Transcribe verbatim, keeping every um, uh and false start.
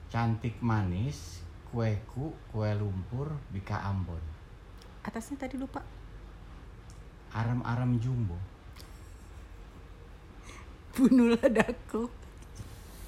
Cantik manis, kueku, kue lumpur, bika Ambon. Atasnya tadi lupa. Arem-arem jumbo. Bunuhlah daku.